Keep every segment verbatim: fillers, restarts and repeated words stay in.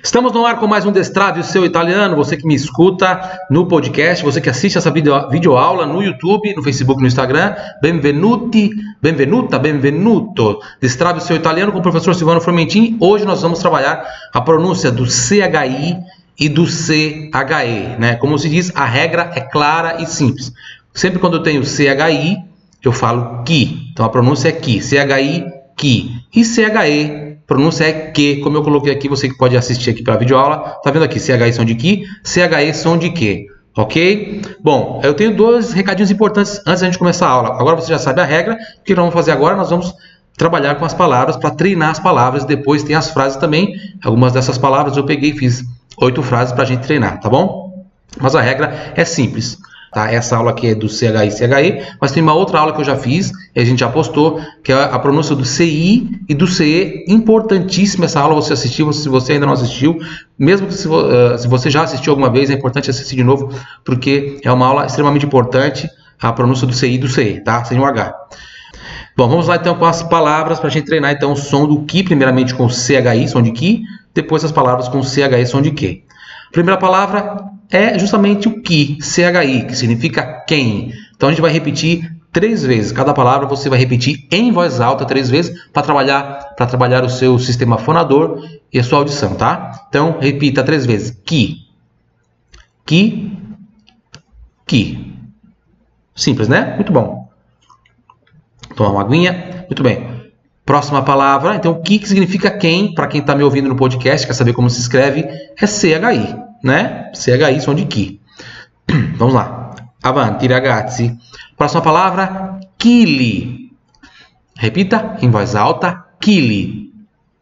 Estamos no ar com mais um Destrave o seu italiano. Você que me escuta no podcast, você que assiste essa video, videoaula no YouTube, no Facebook, no Instagram. Benvenuti, benvenuta, benvenuto. Destrave o seu italiano com o professor Silvano Formentin. Hoje nós vamos trabalhar a pronúncia do C H I e do C H E, né? Como se diz, a regra é clara e simples. Sempre quando eu tenho C H I, eu falo que. Então a pronúncia é que. C H I, que. E C H E, pronúncia é que, como eu coloquei aqui, você que pode assistir aqui pela videoaula, tá vendo aqui, C H I som de que, C H E som de que, ok? Bom, eu tenho dois recadinhos importantes antes da gente começar a aula. Agora você já sabe a regra, o que nós vamos fazer agora? Nós vamos trabalhar com as palavras para treinar as palavras, depois tem as frases também. Algumas dessas palavras eu peguei e fiz oito frases para a gente treinar, tá bom? Mas a regra é simples. Tá? Essa aula aqui é do C H I e C H E, mas tem uma outra aula que eu já fiz e a gente já postou, que é a pronúncia do C I e do C E. Importantíssima essa aula, você assistiu, se você ainda não assistiu, mesmo que se, uh, se você já assistiu alguma vez, é importante assistir de novo, porque é uma aula extremamente importante, a pronúncia do C I e do C E, tá? Sem o H. Bom, vamos lá então com as palavras para a gente treinar então o som do que, primeiramente com o C H I, som de que, depois as palavras com o C H E, som de que. A primeira palavra é justamente o que, C H I, que significa quem. Então a gente vai repetir três vezes. Cada palavra você vai repetir em voz alta três vezes para trabalhar, para trabalhar o seu sistema fonador e a sua audição, tá? Então repita três vezes. Que, que, que. Simples, né? Muito bom. Tomar uma aguinha. Muito bem. Próxima palavra, então o que, que significa quem, para quem está me ouvindo no podcast, quer saber como se escreve, é C H I, né? C H I, som de que. Vamos lá. Avanti, ragazzi. Próxima palavra, chili. Repita em voz alta, chili.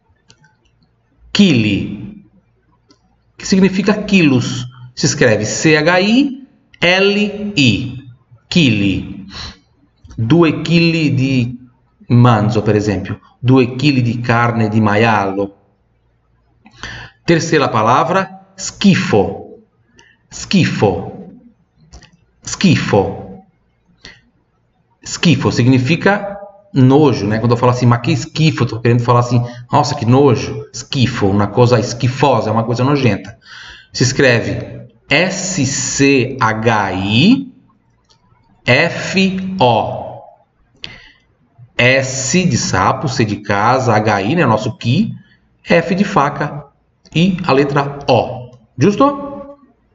Chili. Que significa quilos. Se escreve C H I L I. Chili. Due chili di manzo, per esempio, due chili di carne di maialo. Terceira palavra, schifo. Schifo. Schifo. Schifo significa nojo, né? Quando eu falo assim, mas que schifo, eu tô querendo falar assim, nossa, que nojo. Schifo, uma coisa esquifosa, uma coisa nojenta. Se escreve S C H I F O. S de sapo, C de casa, H I, né, nosso que, F de faca e a letra O. Giusto?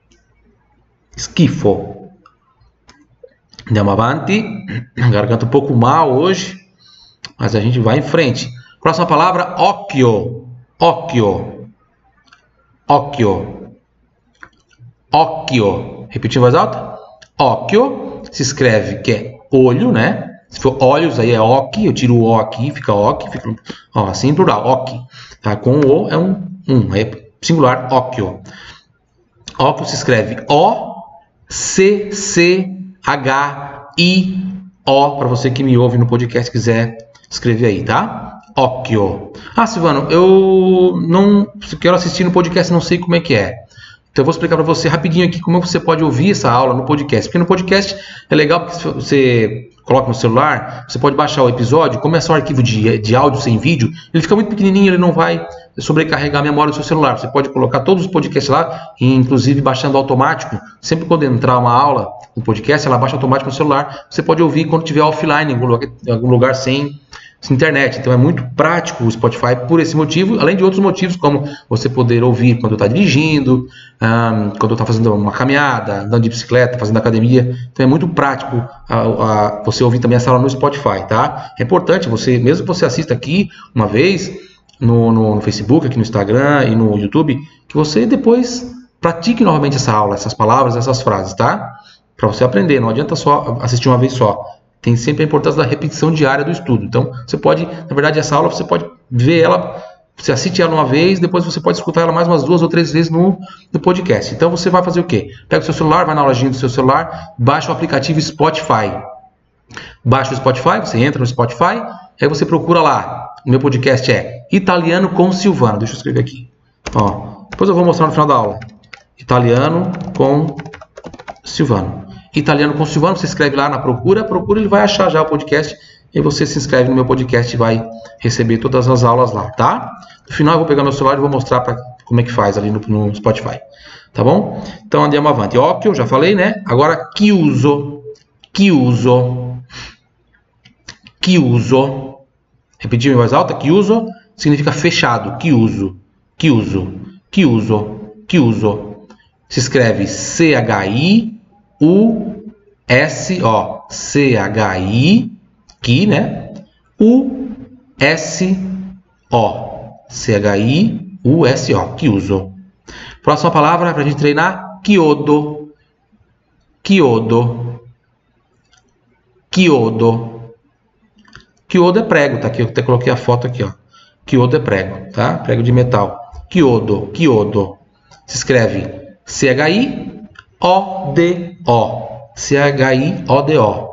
Schifo. Andiamo avanti. Garganta um pouco mal hoje, mas a gente vai em frente. Próxima palavra, occhio. Occhio. Occhio. Occhio. Repetir em voz alta? Occhio se escreve que é olho, né? Se for olhos, aí é oc, eu tiro o o aqui, fica oc, fica ó, assim em plural, oc. Tá? Com o o é um, um, é singular, occhio. Occhio se escreve O C C H I O, para você que me ouve no podcast quiser escrever aí, tá? Occhio. Ah, Silvano, eu não quero assistir no podcast, não sei como é que é. Então eu vou explicar para você rapidinho aqui como você pode ouvir essa aula no podcast. Porque no podcast é legal porque se você coloca no celular, você pode baixar o episódio, como é só um arquivo de, de áudio sem vídeo, ele fica muito pequenininho, ele não vai sobrecarregar a memória do seu celular. Você pode colocar todos os podcasts lá, inclusive baixando automático. Sempre quando entrar uma aula no podcast, ela baixa automático no celular. Você pode ouvir quando estiver offline, em algum lugar, em algum lugar sem... internet. Então é muito prático o Spotify por esse motivo, além de outros motivos, como você poder ouvir quando está dirigindo, um, quando está fazendo uma caminhada, andando de bicicleta, fazendo academia. Então é muito prático a, a, você ouvir também essa aula no Spotify, tá? É importante, você, mesmo que você assista aqui uma vez no, no, no Facebook, aqui no Instagram e no YouTube, que você depois pratique novamente essa aula, essas palavras, essas frases, tá? Para você aprender, não adianta só assistir uma vez só. Tem sempre a importância da repetição diária do estudo. Então, você pode, na verdade, essa aula você pode ver ela, você assiste ela uma vez, depois você pode escutar ela mais umas duas ou três vezes no, no podcast. Então, você vai fazer o quê? Pega o seu celular, vai na lojinha do seu celular, baixa o aplicativo Spotify. Baixa o Spotify, você entra no Spotify, aí você procura lá. O meu podcast é Italiano com Silvano. Deixa eu escrever aqui. Ó, depois eu vou mostrar no final da aula. Italiano com Silvano. Italiano com Silvano, você escreve lá na procura, procura, ele vai achar já o podcast e você se inscreve no meu podcast e vai receber todas as aulas lá, tá? No final eu vou pegar meu celular e vou mostrar para como é que faz ali no, no Spotify. Tá bom? Então andiamo avanti. Occhio, já falei, né? Agora chiuso. Chiuso. Chiuso. Repetir em voz alta. Chiuso significa fechado. Chiuso. Chiuso. Chiuso. Chiuso. Se escreve C H I U S O. C H I, chi, né? U S O. C H I U S O. Chiuso. Próxima palavra para a gente treinar. Chiodo. Chiodo. Chiodo. Chiodo é prego, tá aqui. Eu até coloquei a foto aqui, ó. Chiodo é prego, tá? Prego de metal. Chiodo. Chiodo. Se escreve C H I O D O. C H I O D O.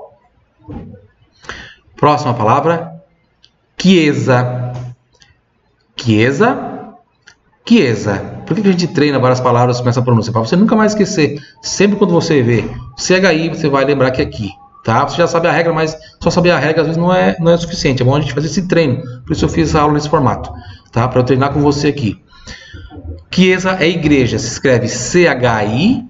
Próxima palavra. Chiesa. Chiesa. Chiesa. Por que a gente treina várias palavras com essa pronúncia? Para você nunca mais esquecer. Sempre quando você vê C H I, você vai lembrar que é aqui. Tá? Você já sabe a regra, mas só saber a regra às vezes não é, não é suficiente. É bom a gente fazer esse treino. Por isso eu fiz essa aula nesse formato. Tá? Para eu treinar com você aqui. Chiesa é igreja. Se escreve C H I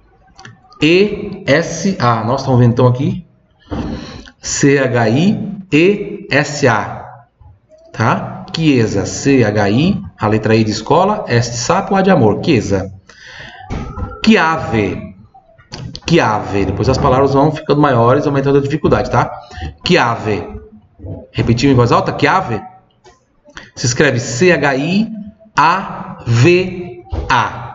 E S A. Nossa, tá um ventão aqui. C H I E S A. Tá? Chiesa. C H I. A letra I de escola. S de sapo, A de amor. Chiesa. Chiave. Chiave. Depois as palavras vão ficando maiores, aumentando a dificuldade, tá? Chiave. Repetiu em voz alta? Chiave. Se escreve C H I A V A.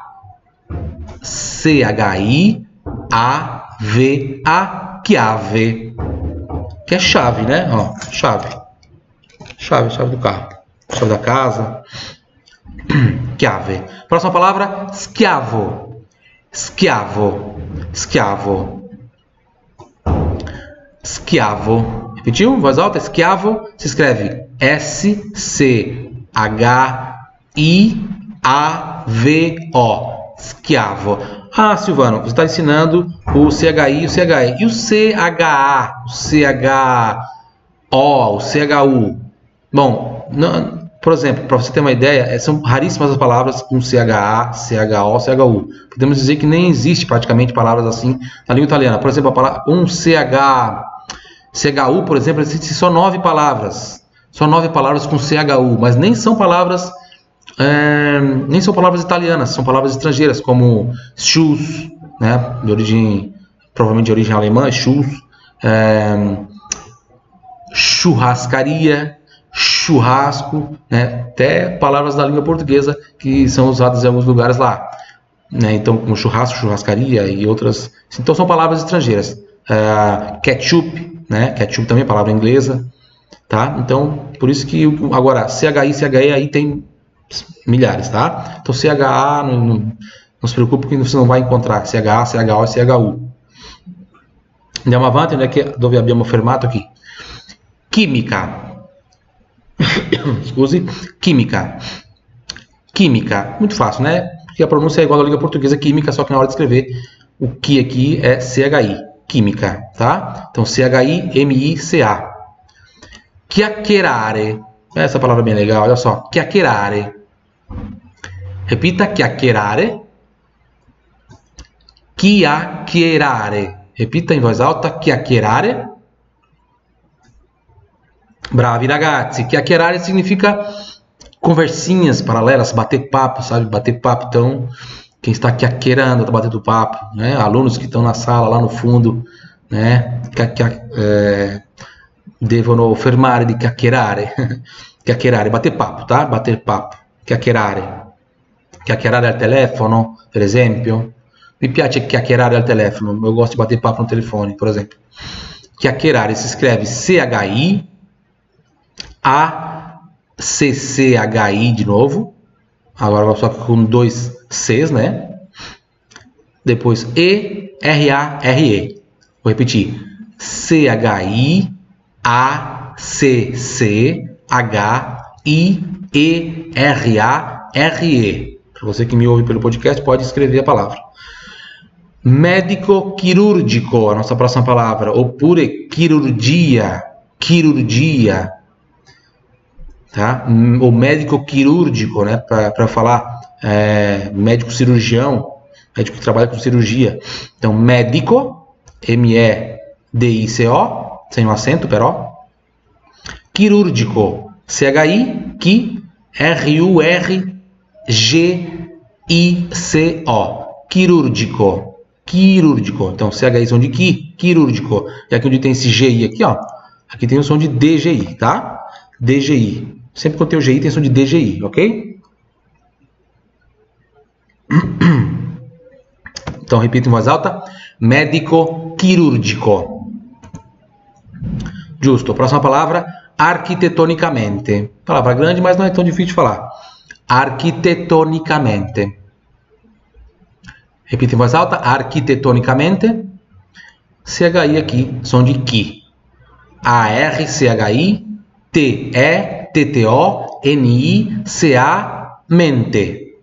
C H I A V A. Chiave. Que é chave, né? Ó, chave. Chave, chave do carro. Chave da casa. Chiave. Próxima palavra, schiavo. Schiavo. Schiavo. Schiavo. Repetiu? Em voz alta? Schiavo se escreve S C H I A V O. Schiavo. Ah, Silvano, você está ensinando o C H I e o C H E. E o C H A, o C H O, o C H U? Bom, não, por exemplo, para você ter uma ideia, são raríssimas as palavras com C H A, C H O, C H U. Podemos dizer que nem existe praticamente palavras assim na língua italiana. Por exemplo, a palavra, um C H, C H U, por exemplo, existe só nove palavras. Só nove palavras com C H U, mas nem são palavras... É, nem são palavras italianas, são palavras estrangeiras, como shoes, né, de origem, provavelmente de origem alemã, shoes, é, churrascaria, churrasco, né, até palavras da língua portuguesa que são usadas em alguns lugares lá, né, então como churrasco, churrascaria e outras, então são palavras estrangeiras. É, ketchup, né, ketchup também é palavra inglesa, tá? Então por isso que agora C H I, C H E aí tem milhares, tá? Então C H A, não, não, não se preocupe que você não vai encontrar C H A, C H O e C H U. Andiamo avanti, onde é que dove abbiamo fermato aqui? Química. Scusi. Química. Química. Muito fácil, né? Porque a pronúncia é igual à língua portuguesa, química, só que na hora de escrever o que aqui é C H I. Química, tá? Então C H I M I C A. Chiacchierare. Essa palavra é bem legal, olha só. Chiacchierare. Repita, chiacchierare. Chiacchierare. Repita em voz alta, chiacchierare. Bravi ragazzi. Chiacchierare significa conversinhas paralelas, bater papo, sabe? Bater papo. Então, quem está chiacchierando, está batendo papo, né? Alunos que estão na sala, lá no fundo, né? É, devono fermare di chiacchierare. Chiacchierare, bater papo, tá? Bater papo. Chiacchierare. Chiacchierare al telefono, per esempio. Mi piace chiacchierare al telefono. Eu gosto de bater papo no telefone, por exemplo. Chiacchierare se escreve C H I A C C H I de novo. Agora só com dois Cs, né? Depois E R A R E. Vou repetir. C H I A C C H I E R A R E. Para você que me ouve pelo podcast, pode escrever a palavra. Médico quirúrgico, a nossa próxima palavra. Oppure chirurgia. Chirurgia. Tá? O médico quirúrgico, né? Para falar é, médico cirurgião, médico que trabalha com cirurgia. Então, médico, M E D I C O, sem um acento, però. Quirúrgico, C H I, Chi, R U R G I C O. Quirúrgico, quirúrgico. Então, C H I som de Qui, quirúrgico. E aqui onde tem esse G I aqui, ó, aqui tem o som de D G I, tá? D G I. Sempre que eu tenho G I, tem som de D G I, ok? Então, repito em voz alta. Médico quirúrgico. Giusto. Próxima palavra, arquitetonicamente. Palavra grande, mas não é tão difícil de falar. Arquitetonicamente. Repito em voz alta. Arquitetonicamente. C H I aqui, som de Qui. A R C H I T E T T O N I C A mente.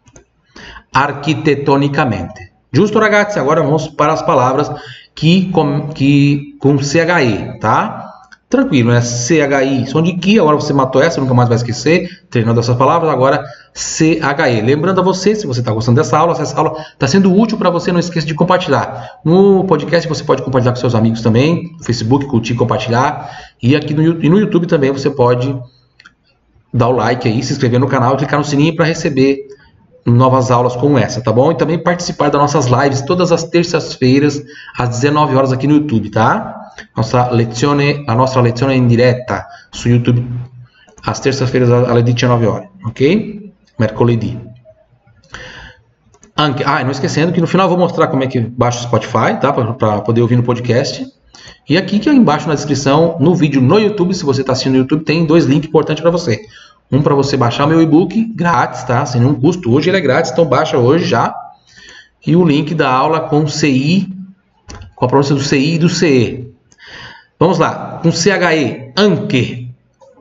Arquitetonicamente. Giusto, ragazzi? Agora vamos para as palavras que com, que, com C H I, tá? Tranquilo, né? C H I, som de Qui. Agora você matou essa, nunca mais vai esquecer. Treinando essas palavras. Agora C H E. Lembrando a você, se você está gostando dessa aula, se essa aula está sendo útil para você, não esqueça de compartilhar. No podcast você pode compartilhar com seus amigos também. No Facebook, curtir, compartilhar. E aqui no, e no YouTube também você pode dar o like aí, se inscrever no canal e clicar no sininho para receber novas aulas como essa, tá bom? E também participar das nossas lives todas as terças-feiras às dezenove horas aqui no YouTube, tá? Nossa lezione, a nossa lezione in diretta su YouTube às terças-feiras às dezenove horas, ok? Mercoledì. Anche, ah, não esquecendo que no final eu vou mostrar como é que baixa o Spotify, tá? Para poder ouvir no podcast. E aqui que é embaixo na descrição, no vídeo no YouTube, se você está assistindo no YouTube, tem dois links importantes para você. Um para você baixar meu e-book grátis, tá? Sem nenhum custo. Hoje ele é grátis, então baixa hoje já. E o link da aula com C I, com a pronúncia do C I e do C E. Vamos lá, com C H E, anche.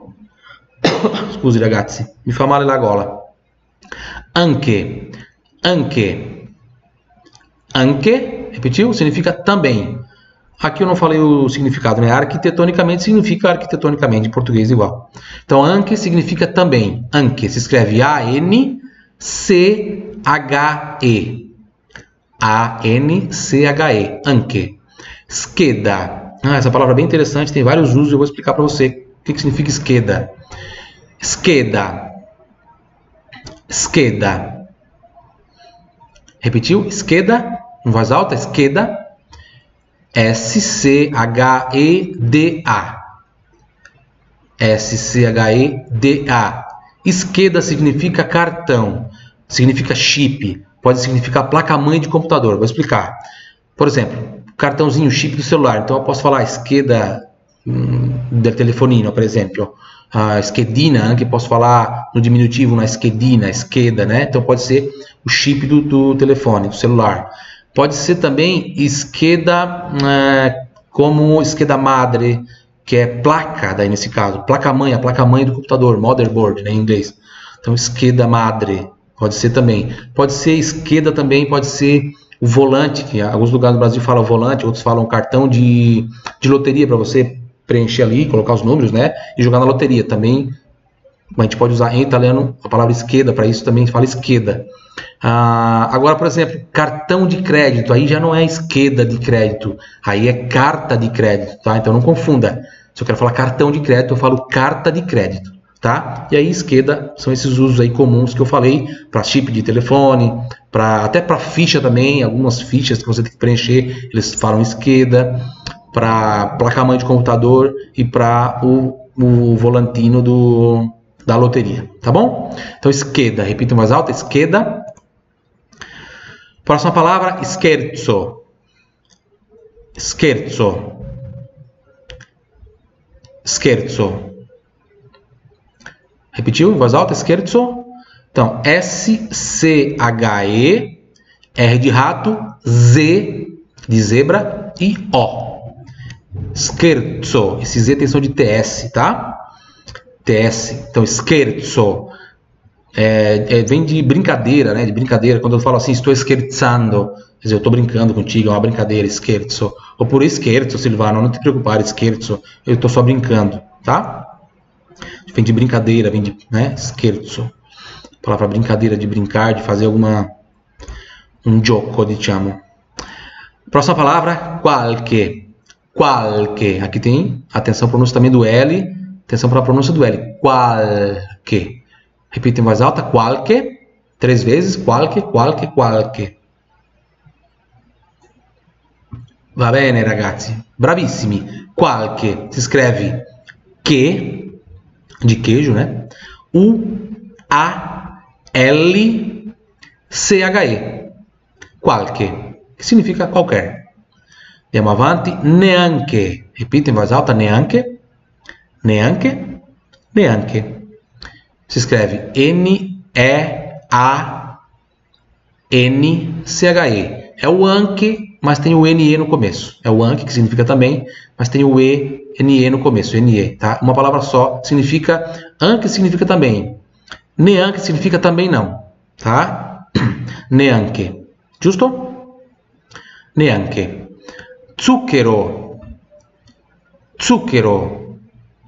Scusi ragazzi, mi fa male la gola. Anche, anche, anche, repetiu? Significa também. Aqui eu não falei o significado, né? Arquitetonicamente significa arquitetonicamente, em português igual. Então, anche significa também. Anche se escreve A N C H E. A N C H E. Anche. Scheda. Ah, essa palavra é bem interessante, tem vários usos, eu vou explicar para você o que, que significa scheda. Scheda. Scheda. Repetiu? Scheda, em voz alta, scheda. S C H E D A. S C H E D A. Scheda significa cartão, significa chip, pode significar placa-mãe de computador. Vou explicar. Por exemplo, cartãozinho, chip do celular. Então eu posso falar scheda hum, del telefonino, por exemplo. A schedina, que posso falar no diminutivo, na schedina, scheda, né? Então pode ser o chip do, do telefone, do celular. Pode ser também scheda é, como scheda madre, que é placa, daí nesse caso, placa-mãe, a placa-mãe do computador, motherboard, né, em inglês. Então, scheda madre, pode ser também. Pode ser scheda também, pode ser o volante, que em alguns lugares do Brasil falam volante, outros falam cartão de, de loteria, para você preencher ali, colocar os números, né, e jogar na loteria. Também a gente pode usar em italiano a palavra scheda, para isso também se fala scheda. Ah, agora, por exemplo, cartão de crédito, aí já não é scheda de crédito, aí é carta de crédito, tá? Então não confunda. Se eu quero falar cartão de crédito, eu falo carta de crédito, tá? E aí scheda são esses usos aí comuns que eu falei para chip de telefone, para até para ficha também, algumas fichas que você tem que preencher, eles falam scheda, para placa-mãe de computador e para o, o volantino do, da loteria, tá bom? Então scheda, repito mais alto, scheda. Próxima palavra, scherzo. Scherzo. Scherzo. Repetiu em voz alta, scherzo? Então, S C H E, R de rato, Z de zebra e O. Scherzo. Esse Z tem som de T S, tá? T S. Então, scherzo. É, é, vem de brincadeira, né? De brincadeira. Quando eu falo assim, estou scherzando, quer dizer, eu estou brincando contigo, é uma brincadeira, scherzo. Ou por scherzo, Silvano, não te preocupar, scherzo, eu estou só brincando, tá? Vem de brincadeira, vem de, né? Scherzo. palavra brincadeira, de brincar, de fazer alguma um gioco, diciamo. Próxima palavra, qualche. Qualche. Aqui tem, atenção, pronúncia também do L. Atenção para a pronúncia do L. Qualche. Repita em voz alta, qualche. Três vezes, qualche, qualche, qualche. Va bene, ragazzi. Bravissimi. Qualche. Si scrive che, de queijo, né? U, A, L, C, H, E. Qualche, que significa qualquer. Andiamo avanti. Neanche. Repita em voz alta, neanche. Neanche. Neanche. Si scrive N, E, A, N, C, H, E. É o anche, mas tem o N E no começo. É o anche, que significa também, mas tem o E, N E no começo. N E, tá? Uma palavra só. Significa, anche significa também. Neanche significa também não. Tá? Neanche. Giusto? Neanche. Zucchero. Zucchero.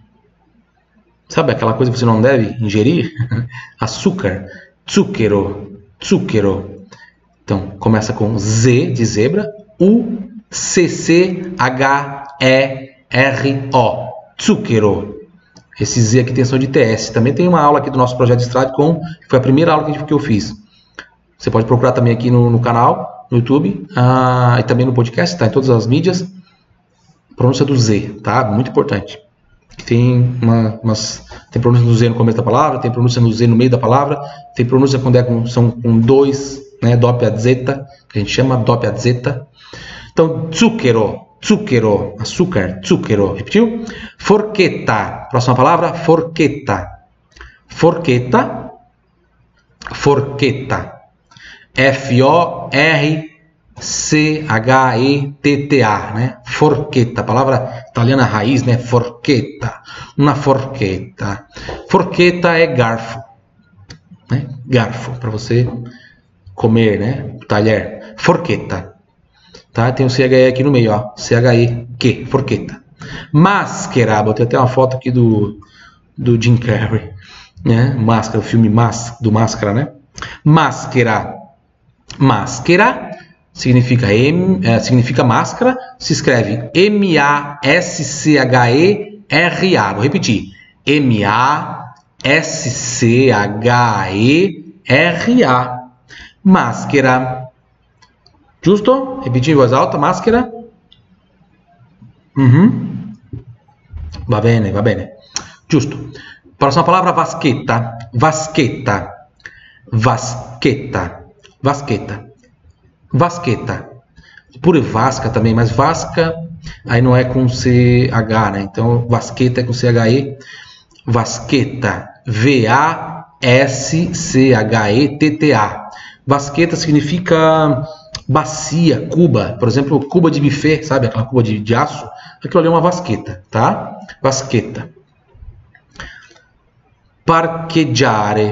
Sabe aquela coisa que você não deve ingerir? Açúcar. Zucchero. Zucchero. Então, começa com Z de zebra. U, C, C, H, E, R, O. Zucchero. Esse Z aqui tem som de T S. Também tem uma aula aqui do nosso projeto Stradcom, que foi a primeira aula que eu fiz. Você pode procurar também aqui no, no canal, no YouTube, ah, e também no podcast, tá? Em todas as mídias. Pronúncia do Z, tá? Muito importante. Tem, uma, umas, tem pronúncia do Z no começo da palavra, tem pronúncia no Z no meio da palavra, tem pronúncia quando é com, são com dois, né? Doppia zeta, que a gente chama doppia zeta. Então, zucchero, zucchero, açúcar, zucchero. Repetiu? Forchetta. Próxima palavra, forchetta. Forchetta. Forchetta. F O R C H E T T A, né? Forchetta, palavra italiana raiz, né? Forchetta, uma forchetta. Forchetta é garfo, né? Garfo, para você comer, né? Talher. Forchetta, tá? Tem o C H E aqui no meio, ó. C H E, que? Forchetta. Máscara, botei até uma foto aqui do, do Jim Carrey, né? Máscara, o filme Mas, do Máscara, né? Máscara. Máscara significa, M, é, significa máscara, se escreve M A S C H E R A. Vou repetir. M A S C H E R A. Máscara. Giusto? Repetir em voz alta. Máscara. Uhum. Va bene, va bene. Giusto. Próxima palavra, vaschetta. Vaschetta. Vaschetta. Vaschetta. Vaschetta. Pure vasca também, mas vasca aí não é com C H, né? Então, vaschetta é com C H E. Vaschetta. V A S C H E T T A. Vaschetta significa bacia, cuba. Por exemplo, cuba de buffet, sabe? Aquela cuba de, de aço. Aquilo ali é uma vaschetta, tá? Vaschetta. Parcheggiare.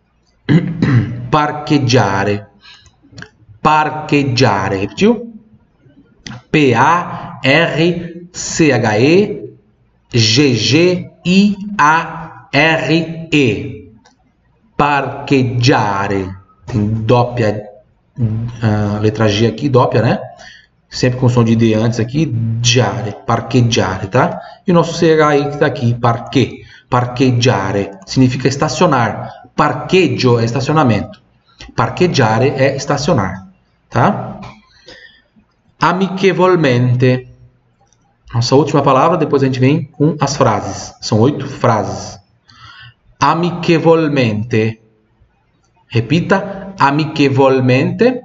Parcheggiare. Parcheggiare. Repetiu? P A R C H E G G I A R E. Parcheggiare. Tem doppia, uh, letra G aqui, doppia, né? Sempre com som de D antes aqui. Giare. Parcheggiare, tá? E o nosso C H I que está aqui. Parque. Parcheggiare. Significa estacionar. Parcheggio é estacionamento. Parcheggiare é estacionar. Tá? Amichevolmente. Nossa última palavra, depois a gente vem com as frases. São oito frases. Amichevolmente. Repita. Amichevolmente.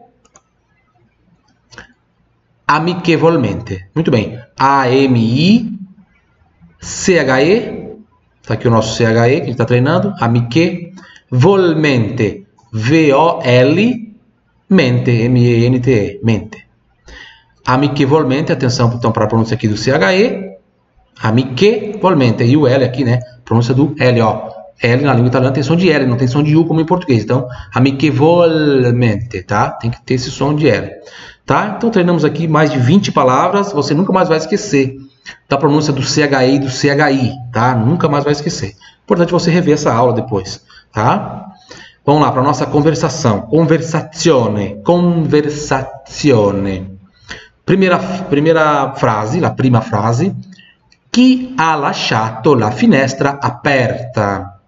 Amichevolmente. Muito bem. A M I C H E. Está aqui o nosso C H E que a gente está treinando. Amichevolmente. V O L mente, M E N T E, mente. Amichevolmente, atenção então para a pronúncia aqui do C H E. Amichevolmente, e o L aqui, né? Pronúncia do L, ó. L na língua italiana tem som de L, não tem som de U como em português. Então, amichevolmente, tá? Tem que ter esse som de L, tá? Então, treinamos aqui mais de vinte palavras. Você nunca mais vai esquecer da pronúncia do C H E e do C H I, tá? Nunca mais vai esquecer. Importante você rever essa aula depois, tá? Vamos lá para a nossa conversação. Conversazione. Conversazione. Primeira, primeira frase, la prima frase. Chi ha lasciato la finestra aperta?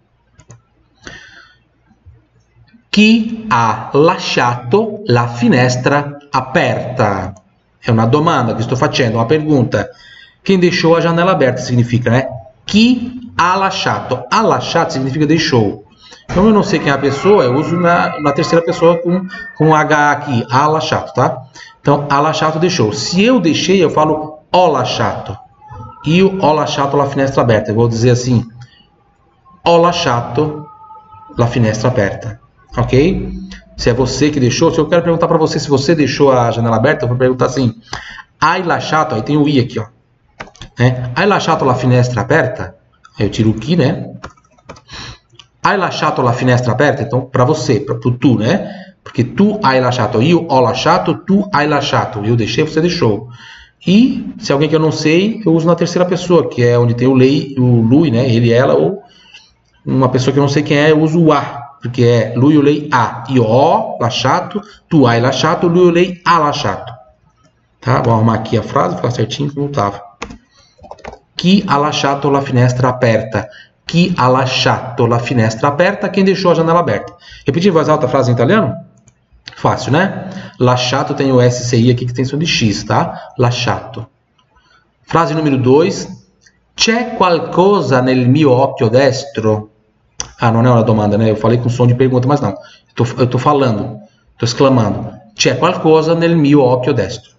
Chi ha lasciato la finestra aperta? È una domanda che sto facendo, uma pergunta. Quem deixou a janela aberta significa, né? Chi ha lasciato. Ha lasciato significa deixou. Como eu não sei quem é a pessoa, eu uso na, na terceira pessoa com, com H aqui. Ha lasciato, tá? Então, ha lasciato deixou. Se eu deixei, eu falo ho lasciato. Io ho lasciato la finestra aperta. Eu vou dizer assim: ho lasciato la finestra aperta. Ok? Se é você que deixou, se eu quero perguntar para você se você deixou a janela aberta, eu vou perguntar assim: hai lasciato, aí tem o i aqui, ó. Né? Hai lasciato la finestra aperta? Aí eu tiro o chi, né? Hai lasciato la finestra aperta? Então, para você, para tu, né? Porque tu hai lasciato, io ho lasciato, tu hai lasciato. Eu deixei, você deixou. E se alguém que eu não sei, eu uso na terceira pessoa, que é onde tem o lei, o lui, né? Ele, ela, ou uma pessoa que eu não sei quem é, eu uso o a. Porque é lui o lei a. Io ho lasciato, tu hai lasciato, lui o lei ha lasciato. Tá? Vou arrumar aqui a frase, ficar certinho como estava. Chi ha lasciato la finestra aperta? Chi ha lasciato la finestra aperta? Quem deixou a janela aberta? Repetir em voz alta a frase em italiano? Fácil, né? Lasciato tem o S C I aqui que tem som de X, tá? Lasciato. Frase número dois. C'è qualcosa nel mio occhio destro? Ah, não é uma domanda, né? Eu falei com som de pergunta, mas não. Eu tô, eu tô falando, tô exclamando. C'è qualcosa nel mio occhio destro.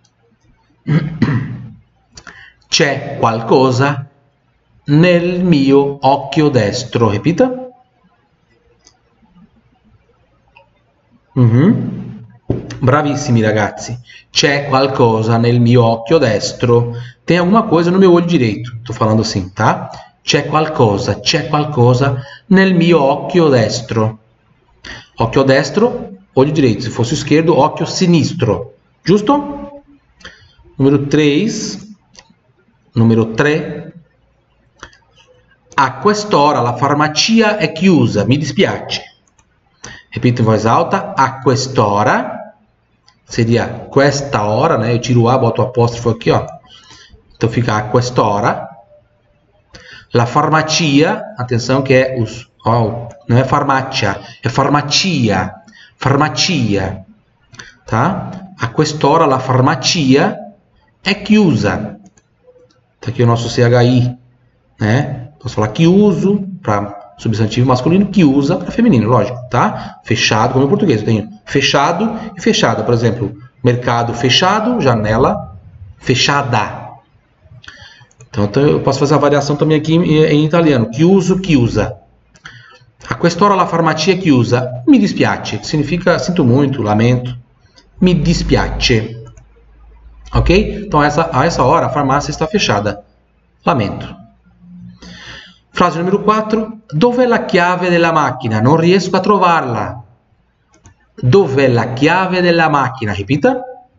C'è qualcosa nel mio occhio destro. Repita. Uhum. Bravissimi ragazzi. C'è qualcosa nel mio occhio destro. Tem alguma coisa no meu olho direito. Tô falando assim, tá? C'è qualcosa, c'è qualcosa nel mio occhio destro. Occhio destro, olho direito. Se fosse o esquerdo, occhio sinistro. Giusto? Número três. Numero tre. A quest'ora la farmacia è chiusa. Mi dispiace. Repito in voz alta. A quest'ora. Seria questa hora, né? Eu tiro o A, boto o apóstrofo aqui, ó. Então fica a quest'ora. La farmacia. Atenção que é os... Ó, não é farmácia. É farmacia. Farmacia. Tá? A quest'ora la farmacia è chiusa. Tá aqui o nosso C H I, né? Posso falar que uso para substantivo masculino, que usa para feminino, lógico, tá? Fechado, como em português, eu tenho fechado e fechada. Por exemplo, mercado fechado, janela fechada. Então eu posso fazer a variação também aqui em, em italiano. Que uso, que usa. A quest'ora la farmacia che usa. Mi dispiace, que significa sinto muito, lamento. Mi dispiace. Ok? Então, essa, a essa hora, a farmácia está fechada. Lamento. Frase número quatro. Dov'è la chiave della macchina? Non riesco a trovarla. Dov'è la chiave della macchina? Ripita.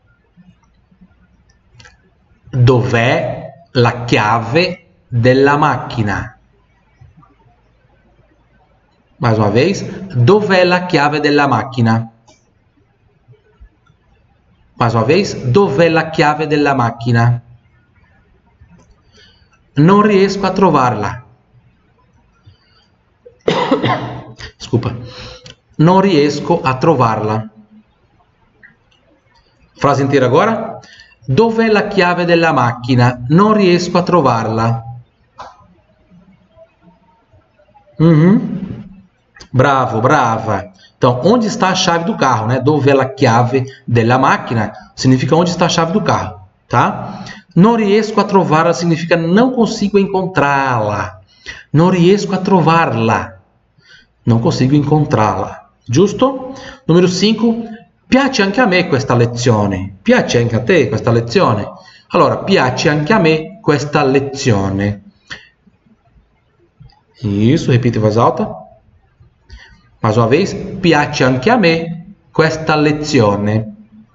Dov'è la chiave della macchina? Mais uma vez. Dov'è la chiave della macchina? Mais uma vez, dov'è la chiave della macchina? Non riesco a trovarla. Desculpa. Non riesco a trovarla. Frase inteira agora. Dov'è la chiave della macchina? Non riesco a trovarla. Uhum. Bravo, brava. Então, onde está a chave do carro, né? Dov'è la chiave della macchina significa onde está a chave do carro, tá? Non riesco a trovarla significa não consigo encontrá-la. Non riesco a trovarla. Não consigo encontrá-la. Giusto? Número cinco. Piace anche a me questa lezione. Piace anche a te questa lezione. Allora, piace anche a me questa lezione. Isso, repita em voz alta. Mais uma vez, piace anche a me questa lezione.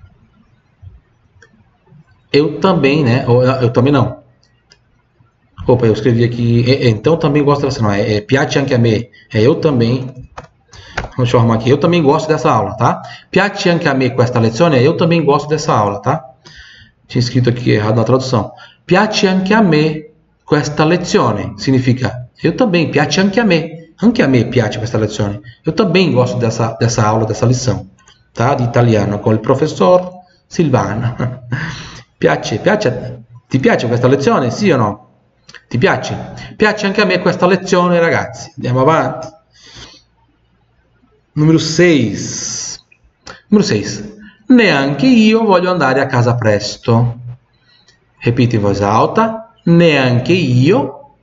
Eu também, né? Eu, eu também não. Opa, eu escrevi aqui. Então também gosto dessa, não é? É piace anche a me. É eu também Deixa eu arrumar aqui. Eu também gosto dessa aula, tá? Piace anche a me questa lezione. Eu também gosto dessa aula, tá? Tinha escrito aqui errado na tradução. Piace anche a me questa lezione. Significa, eu também, piace anche a me. Anche a me piace questa lezione. Eu também gosto dessa, dessa aula, dessa lição, tá? Di italiano con il professor Silvano. Piace, piace, ti piace questa lezione? Sì o no? Ti piace? Piace anche a me questa lezione, ragazzi. Andiamo avanti. Numero sei. Numero sei. Neanche io voglio andare a casa presto. Ripeti in voce alta. Neanche io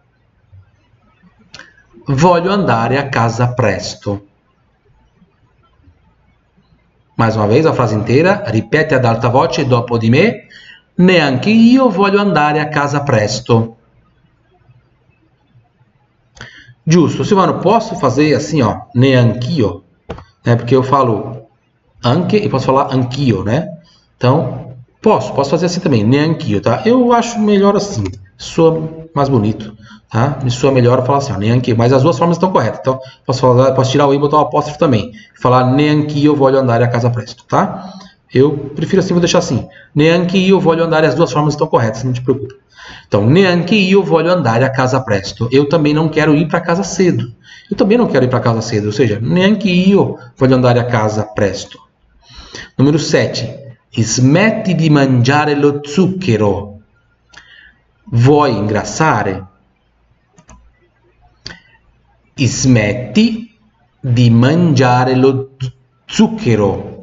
voglio andare a casa presto. Mais uma vez a frase inteira. Ripete ad alta voce dopo di me. Neanche io voglio andare a casa presto. Giusto, Silvano, posso fazer assim, ó, neanch'io, né? Porque eu falo anche e posso falar anch'io, né? Então, posso, posso fazer assim também, neanch'io, tá? Eu acho melhor assim, soa mais bonito, tá? Me soa melhor falar assim, ó, neanch'io, mas as duas formas estão corretas, então posso, falar, posso tirar o i e botar o apóstrofo também, falar neanch'io voglio andare a casa presto, tá? Eu prefiro assim, vou deixar assim, neanch'io voglio andare, as duas formas estão corretas, não te preocupa. Então, neanche io voglio andare a casa presto. Eu também não quero ir para casa cedo. Eu também não quero ir para casa cedo. Ou seja, neanche io voglio andare a casa presto. Número sete. Smetti di mangiare lo zucchero. Vuoi ingrassare? Smetti di mangiare lo zucchero.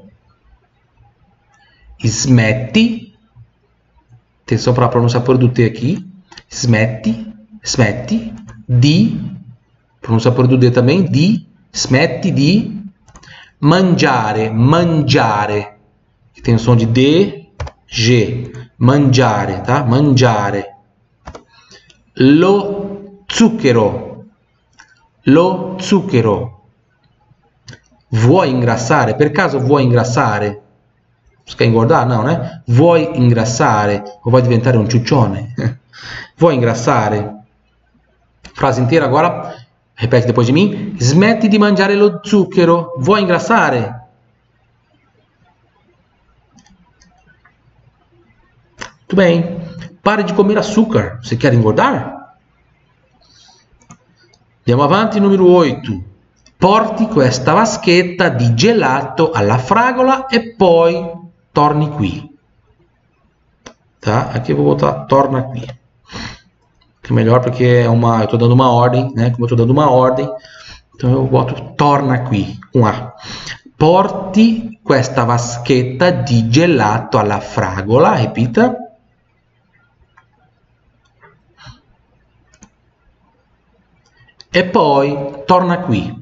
Smetti. Atenção para a pronúncia por do T aqui. Smetti, smetti, di, pronúncia por do D também, di, smetti di, mangiare, mangiare, que tem o som de D, G, mangiare, tá? Mangiare. Lo zucchero, lo zucchero. Vuoi ingrassare? Per caso vuoi ingrassare? Você quer engordar? Não, né? Vuoi ingrassare ou vai diventare um ciuccione? Vuoi ingrassare? Frase inteira agora. Repete depois de mim. Smetti di mangiare lo zucchero. Vuoi ingrassare? Muito bem. Pare de comer açúcar. Você quer engordar? Andiamo avanti, numero oito. Porti questa vaschetta di gelato alla fragola e poi torni qui. Tá? Aqui eu vou botar torna qui. Que é melhor porque é uma, eu estou dando uma ordem, né? Como eu estou dando uma ordem, então eu boto torna qui, com A. Porti questa vaschetta di gelato alla fragola, repita. E poi torna qui.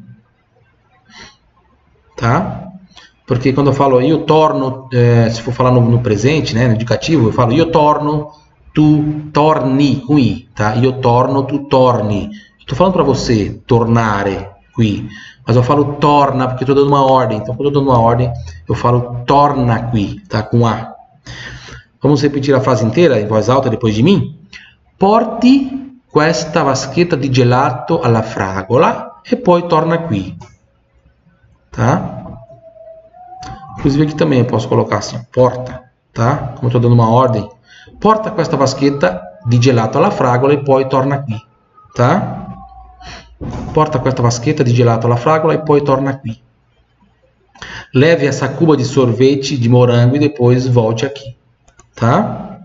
Tá? Porque quando eu falo io torno, eh, se for falar no, no presente, né, no indicativo, eu falo io torno, tu torni qui, tá? Io torno, tu torni. Estou falando para você tornare qui, mas eu falo torna porque estou dando uma ordem. Então, quando eu estou dando uma ordem, eu falo torna qui, tá? Com A. Vamos repetir a frase inteira em voz alta depois de mim? Porti questa vaschetta di gelato alla fragola e poi torna qui. Tá? Inclusive aqui também eu posso colocar assim, porta, tá? Como eu estou dando uma ordem. Porta questa vaschetta di gelato alla fragola e poi torna qui, tá? Porta questa vaschetta di gelato alla fragola e poi torna qui. Leve essa cuba de sorvete de morango e depois volte aqui, tá?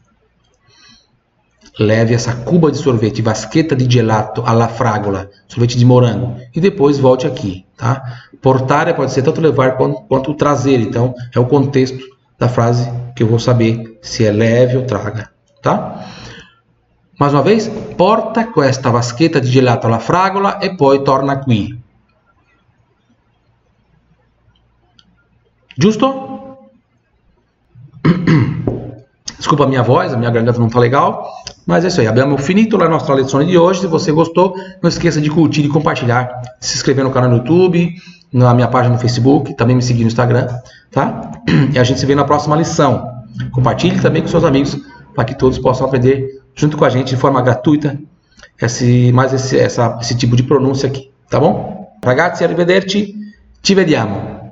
Leve essa cuba de sorvete, vaschetta di gelato alla fragola, sorvete de morango, e depois volte aqui, tá? Portare pode ser tanto levar quanto, quanto trazer, então é o contexto da frase que eu vou saber se é leve ou traga, tá? Mais uma vez, porta questa vaschetta di gelato alla fragola e poi torna qui. Giusto? Desculpa a minha voz, a minha garganta não está legal, mas é isso aí. Abbiamo finito la nostra lezione de hoje. Se você gostou, não esqueça de curtir e compartilhar, se inscrever no canal no YouTube, na minha página no Facebook, também me seguir no Instagram, tá? E a gente se vê na próxima lição. Compartilhe também com seus amigos, para que todos possam aprender junto com a gente de forma gratuita esse, mais esse, essa, esse tipo de pronúncia aqui, tá bom? Ragazzi, arrivederci Ci vediamo.